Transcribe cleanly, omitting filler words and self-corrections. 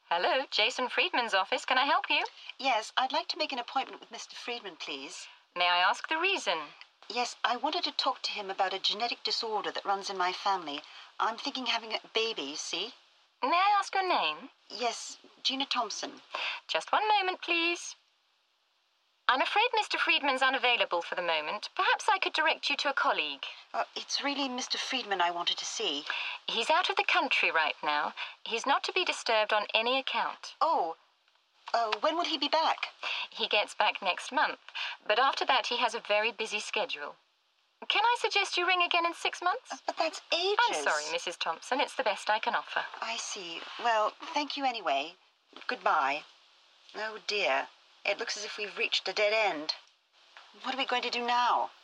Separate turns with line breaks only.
Hello, Jason Friedman's office. Can I help you?
Yes, I'd like to make an appointment with Mr. Friedman, please.
May I ask the reason?
Yes, I wanted to talk to him about a genetic disorder that runs in my family. I'm thinking having a baby, you see?
May I ask your name?
Yes, Gina Thompson.
Just one moment, please. I'm afraid Mr. Friedman's unavailable for the moment. Perhaps I could direct you to a colleague.
It's really Mr. Friedman I wanted to see.
He's out of the country right now. He's not to be disturbed on any account.
Oh, when will he be back?
He gets back next month, but after that he has a very busy schedule. Can I suggest you ring again in 6 months?
But that's ages.
I'm sorry, Mrs. Thompson. It's the best I can offer.
I see. Well, thank you anyway. Goodbye. Oh, dear. It looks as if we've reached a dead end. What are we going to do now?